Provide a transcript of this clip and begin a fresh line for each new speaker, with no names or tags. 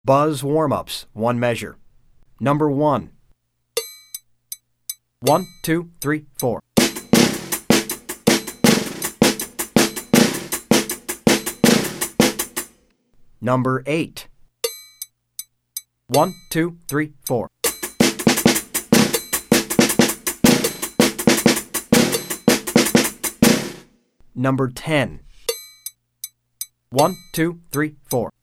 Buzz warm-ups, one measure. Number 1. 1, 2, 3, 4. Number 8. 1, 2, 3, 4. Number 10. 1, 2, 3, 4.